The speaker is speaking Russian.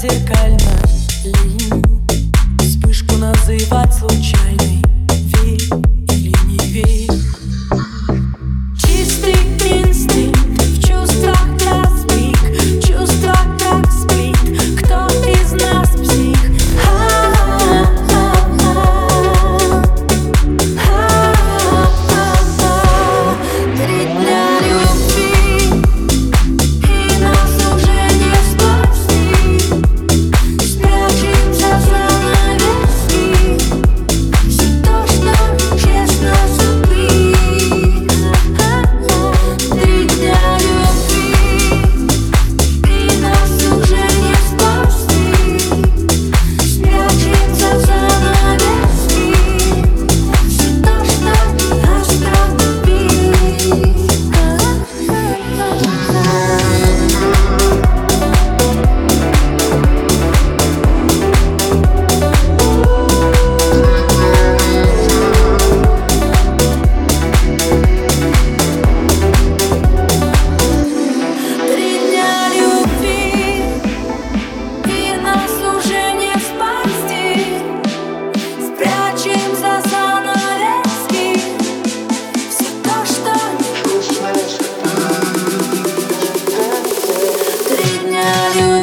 зеркально ли вспышку называть случайной? Верь или не верь? Чистый инстинкт в чувствах разбит, в чувствах как сплит. Кто из нас псих? Три дня любви, и нас уже не спасти. Спрячемся за занавески, все то, что честно забыть. Три дня любви, и нас уже не спасти. Спрячемся за занавески, все то, что остановить. Три дня любви, и нас уже не спасти. Спрячем за занавески все то, что три дня любви.